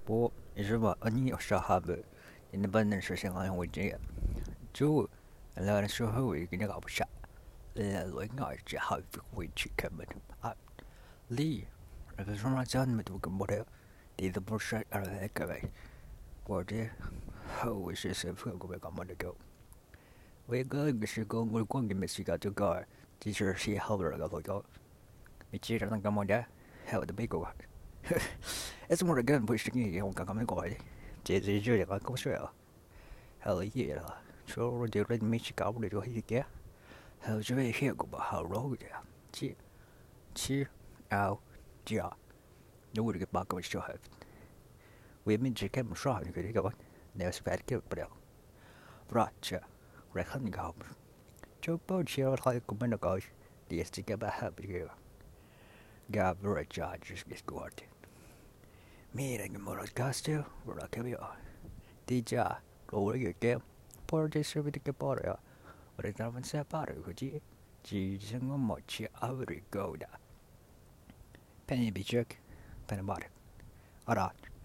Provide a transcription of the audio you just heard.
på Java ani shahabu in the bundle session on with J. Joe, a lot of show who you can go shot. Like not how we chicken up. Lee, if it's from my son, but we can whatever. The bullshit are the heck of it. Or dear, how is this if we'll go back on the go? We're going to go, we're going to miss you got to go. Teacher, see how we're going to go. Mitchell doesn't come on there. How the big one. It's more again pushing you on come and go. Jay Julia like go swell. Hell yeah. So the red Michigan will do here. How's your here go about how road there? Cheer out, ja. Nu would get back of show have. We mean to come shot and could go. There's bad kill, but Roger, reckon go. Joe Boat here like a minute ago. The stick about help you. Gab very charges is good. Meeting a motor castle, where I can be on. DJ, roll your game. Poor distributed a border. But it's not say about it, could you? Jesus, and much every go. Penny be jerk, penny bought it. Alright.